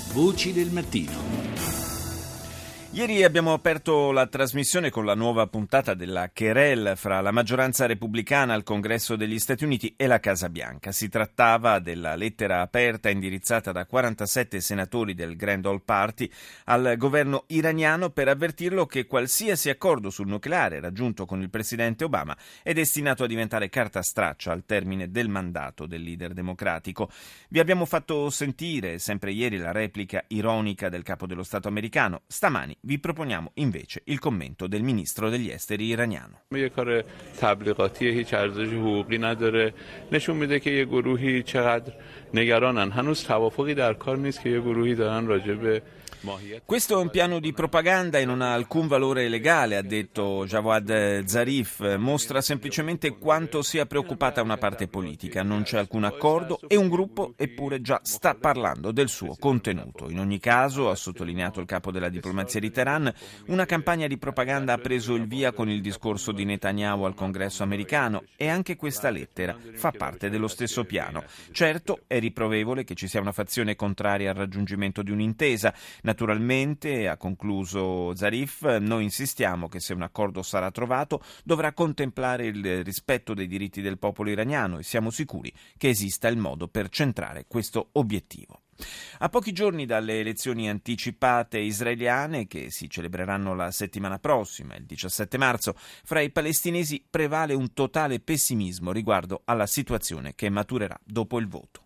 Voci del mattino. Ieri abbiamo aperto la trasmissione con la nuova puntata della querelle fra la maggioranza repubblicana al Congresso degli Stati Uniti e la Casa Bianca. Si trattava della lettera aperta indirizzata da 47 senatori del Grand Old Party al governo iraniano per avvertirlo che qualsiasi accordo sul nucleare raggiunto con il presidente Obama è destinato a diventare carta straccia al termine del mandato del leader democratico. Vi abbiamo fatto sentire sempre ieri la replica ironica del capo dello Stato americano. Stamani vi proponiamo invece il commento del ministro degli esteri iraniano. یه کار تبلیغاتی هیچ ارزش حقوقی نداره نشون میده که یه گروهی چقدر نگرانن هنوز توافقی در کار نیست که یه گروهی دارن راجع به Questo è un piano di propaganda e non ha alcun valore legale, ha detto Jawad Zarif, mostra semplicemente quanto sia preoccupata una parte politica, non c'è alcun accordo e un gruppo eppure già sta parlando del suo contenuto. In ogni caso, ha sottolineato il capo della diplomazia di Teheran, una campagna di propaganda ha preso il via con il discorso di Netanyahu al Congresso americano e anche questa lettera fa parte dello stesso piano. Certo, è riprovevole che ci sia una fazione contraria al raggiungimento di un'intesa. Naturalmente, ha concluso Zarif, noi insistiamo che se un accordo sarà trovato dovrà contemplare il rispetto dei diritti del popolo iraniano e siamo sicuri che esista il modo per centrare questo obiettivo. A pochi giorni dalle elezioni anticipate israeliane che si celebreranno la settimana prossima, il 17 marzo, fra i palestinesi prevale un totale pessimismo riguardo alla situazione che maturerà dopo il voto.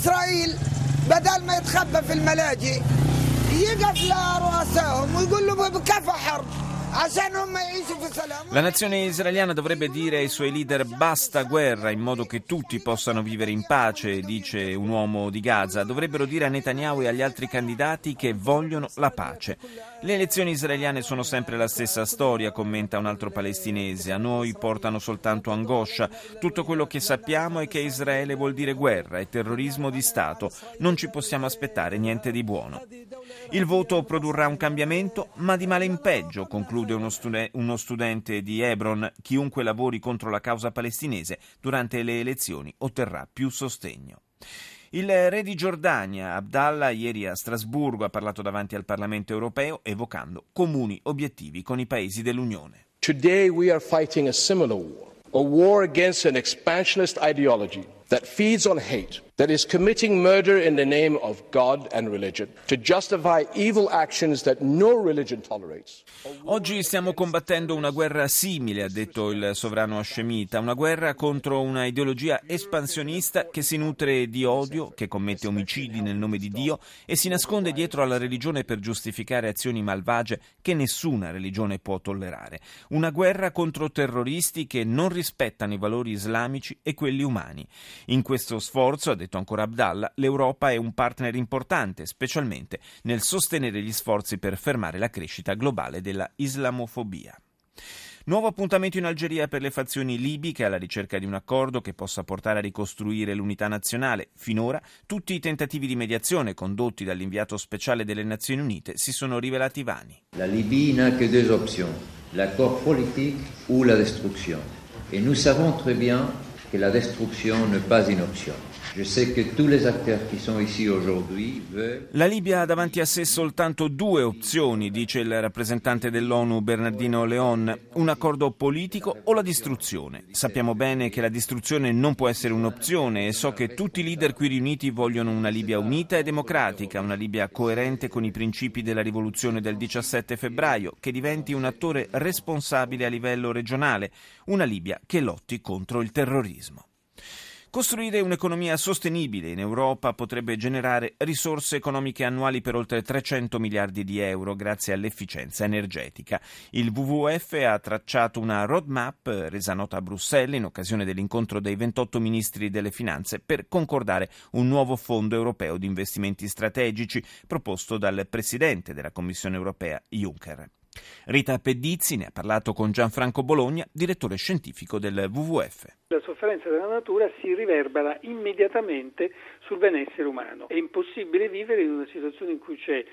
La nazione israeliana dovrebbe dire ai suoi leader basta guerra in modo che tutti possano vivere in pace, dice un uomo di Gaza. Dovrebbero dire a Netanyahu e agli altri candidati che vogliono la pace. Le elezioni israeliane sono sempre la stessa storia, commenta un altro palestinese. A noi portano soltanto angoscia. Tutto quello che sappiamo è che Israele vuol dire guerra e terrorismo di Stato. Non ci possiamo aspettare niente di buono. Il voto produrrà un cambiamento, ma di male in peggio, conclude uno studente di Hebron. Chiunque lavori contro la causa palestinese durante le elezioni otterrà più sostegno. Il re di Giordania, Abdallah, ieri a Strasburgo ha parlato davanti al Parlamento europeo evocando comuni obiettivi con i paesi dell'Unione. Today we are fighting a similar war, a war against an expansionist ideology that feeds on hate, that is committing murder in the name of God and religion, to justify evil actions that no religion tolerates. Oggi stiamo combattendo una guerra simile, ha detto il sovrano hascemita, una guerra contro una ideologia espansionista che si nutre di odio, che commette omicidi nel nome di Dio e si nasconde dietro alla religione per giustificare azioni malvagie che nessuna religione può tollerare. Una guerra contro terroristi che non rispettano i valori islamici e quelli umani. In questo sforzo, ha detto ancora Abdallah, l'Europa è un partner importante, specialmente nel sostenere gli sforzi per fermare la crescita globale della islamofobia. Nuovo appuntamento in Algeria per le fazioni libiche alla ricerca di un accordo che possa portare a ricostruire l'unità nazionale. Finora tutti i tentativi di mediazione condotti dall'inviato speciale delle Nazioni Unite si sono rivelati vani. La Libye n'a que deux options, l'accord politique ou la destruction. Et nous savons très bien que la destruction n'est pas une option. Je sais que tous les acteurs qui sont ici aujourd'hui veulent... La Libia ha davanti a sé soltanto due opzioni, dice il rappresentante dell'ONU Bernardino Leon, un accordo politico o la distruzione. Sappiamo bene che la distruzione non può essere un'opzione e so che tutti i leader qui riuniti vogliono una Libia unita e democratica, una Libia coerente con i principi della rivoluzione del 17 febbraio, che diventi un attore responsabile a livello regionale, una Libia che lotti contro il terrorismo. Costruire un'economia sostenibile in Europa potrebbe generare risorse economiche annuali per oltre 300 miliardi di euro grazie all'efficienza energetica. Il WWF ha tracciato una roadmap resa nota a Bruxelles in occasione dell'incontro dei 28 ministri delle finanze per concordare un nuovo fondo europeo di investimenti strategici proposto dal presidente della Commissione europea Juncker. Rita Pedizzi ne ha parlato con Gianfranco Bologna, direttore scientifico del WWF. La sofferenza della natura si riverbera immediatamente sul benessere umano. È impossibile vivere in una situazione in cui c'è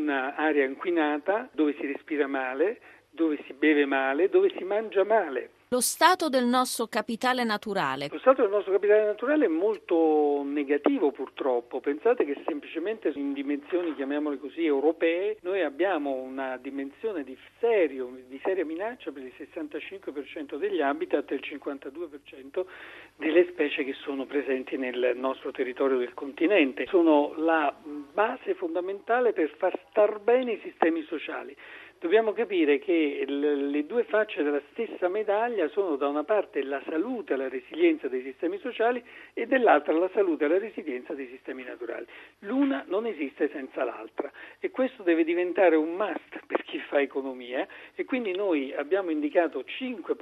un'aria inquinata, dove si respira male, dove si beve male, dove si mangia male. Lo stato del nostro capitale naturale. Lo stato del nostro capitale naturale è molto negativo purtroppo. Pensate che semplicemente in dimensioni, chiamiamole così, europee, noi abbiamo una dimensione di seria minaccia per il 65% degli habitat e il 52% delle specie che sono presenti nel nostro territorio del continente. Sono la base fondamentale per far star bene i sistemi sociali. Dobbiamo capire che le due facce della stessa medaglia sono da una parte la salute e la resilienza dei sistemi sociali e dall'altra la salute e la resilienza dei sistemi naturali. L'una non esiste senza l'altra e questo deve diventare un must per chi fa economia e quindi noi abbiamo indicato 5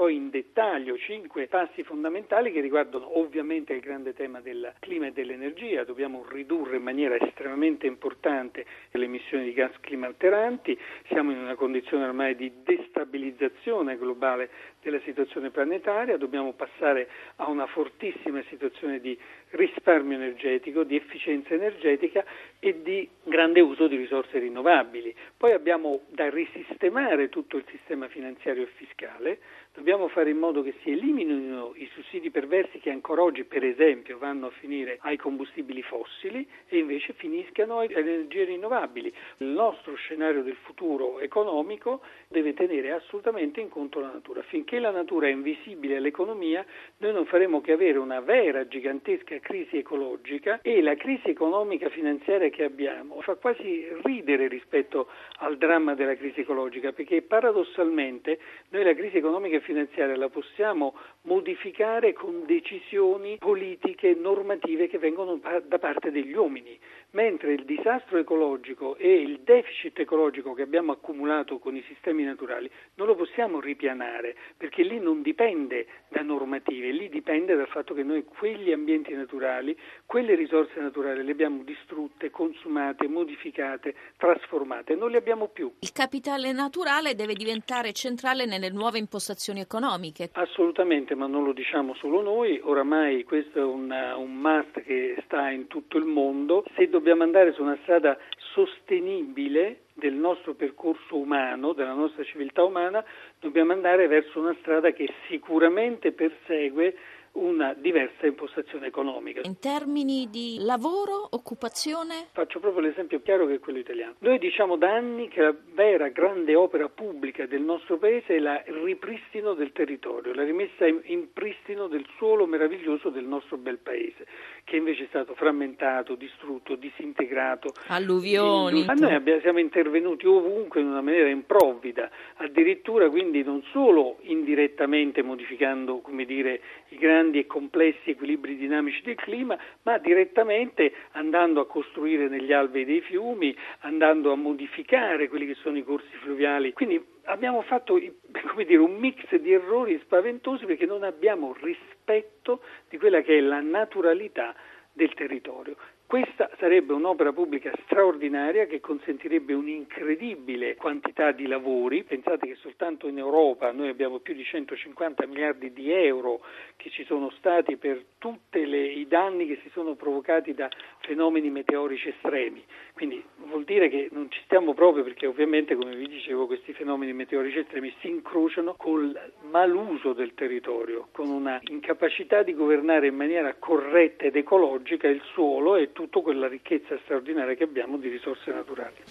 passi fondamentali che riguardano ovviamente il grande tema del clima e dell'energia. Dobbiamo ridurre in maniera estremamente importante le emissioni di gas climalteranti, siamo in una condizione ormai di destabilizzazione globale della situazione planetaria, dobbiamo passare a una fortissima situazione di risparmio energetico, di efficienza energetica e di grande uso di risorse rinnovabili. Poi abbiamo da risistemare tutto il sistema finanziario e fiscale, dobbiamo fare in modo che si eliminino i sussidi perversi che ancora oggi, per esempio, vanno a finire ai combustibili fossili e invece finiscano alle energie rinnovabili. Il nostro scenario del futuro economico deve tenere assolutamente in conto la natura. Finché la natura è invisibile all'economia, noi non faremo che avere una vera, gigantesca crisi ecologica e la crisi economica finanziaria che abbiamo fa quasi ridere rispetto al dramma della crisi ecologica, perché paradossalmente noi la crisi economica e finanziaria la possiamo modificare con decisioni politiche, normative che vengono da parte degli uomini, mentre il disastro ecologico e il deficit ecologico che abbiamo accumulato con i sistemi naturali non lo possiamo ripianare, perché lì non dipende da normative, lì dipende dal fatto che noi quegli ambienti naturali, quelle risorse naturali le abbiamo distrutte, consumate, modificate, trasformate, non le abbiamo più. Il capitale naturale deve diventare centrale nelle nuove impostazioni economiche. Assolutamente, ma non lo diciamo solo noi, oramai questo è un must che sta in tutto il mondo. Se dobbiamo andare su una strada sostenibile del nostro percorso umano, della nostra civiltà umana, dobbiamo andare verso una strada che sicuramente persegue una diversa impostazione economica. In termini di lavoro, occupazione? Faccio proprio l'esempio chiaro che è quello italiano. Noi diciamo da anni che la vera grande opera pubblica del nostro paese è il ripristino del territorio, la rimessa in pristino del suolo meraviglioso del nostro bel paese, che invece è stato frammentato, distrutto, disintegrato. Alluvioni. Ma noi siamo intervenuti ovunque in una maniera improvvida, addirittura quindi non solo indirettamente modificando, come dire, i grandi e complessi equilibri dinamici del clima, ma direttamente andando a costruire negli alvei dei fiumi, andando a modificare quelli che sono i corsi fluviali. Quindi abbiamo fatto, come dire, un mix di errori spaventosi perché non abbiamo rispetto di quella che è la naturalità del territorio. Questa sarebbe un'opera pubblica straordinaria che consentirebbe un'incredibile quantità di lavori. Pensate che soltanto in Europa noi abbiamo più di 150 miliardi di euro che ci sono stati per tutti i danni che si sono provocati da fenomeni meteorici estremi. Quindi vuol dire che non ci stiamo proprio, perché ovviamente, come vi dicevo, questi fenomeni meteorici estremi si incrociano col maluso del territorio, con una incapacità di governare in maniera corretta ed ecologica il suolo e tutta quella ricchezza straordinaria che abbiamo di risorse naturali.